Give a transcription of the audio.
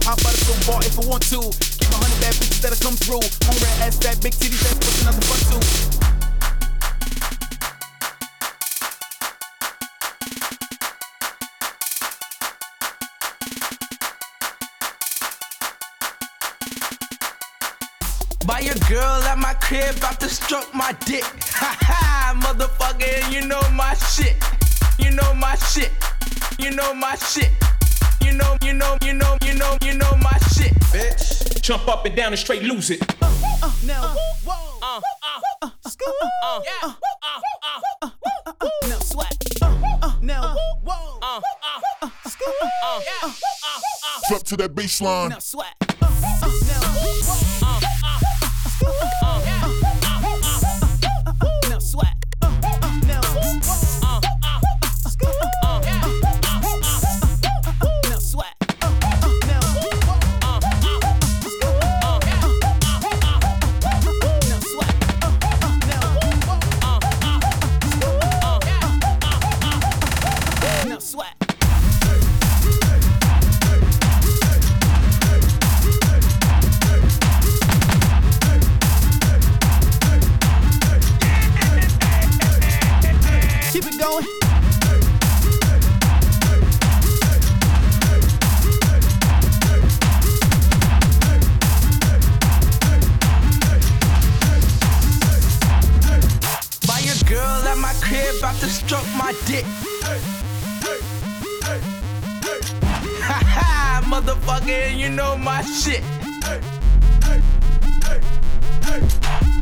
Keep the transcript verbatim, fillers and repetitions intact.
Hop out of so bar if I want to. Give a hundred bad bitches that'll come through. Hungry ass, fat, big titties, that's pushing out the front too. Buy your girl at my crib, about to stroke my dick. Ha ha, motherfucker, and you know my shit. You know my shit. You know my shit. You know, you know, you know, you know, you know my shit, bitch. Jump up and down and straight lose it. Uh, uh, now, whoa, Uh, uh, uh, school, uh, yeah. Uh, uh, uh, uh, now swag. Uh, uh, now, whoa, uh, uh, uh, school, uh, yeah. Uh, uh, Drop to that baseline. now swag. Uh, uh, now, whoa, uh, uh, uh, yeah. now swag. Uh, uh, now, whoa, Uh, uh, school, uh, yeah. now swag. Uh, uh, now, whoa, Uh, uh, school, uh, yeah. now swag. Uh, uh, now, whoa, Uh, uh, yeah. now swag. Keep it going. Buy your girl at my crib, about to stroke my dick. Ha ha, motherfucker, and you know my shit.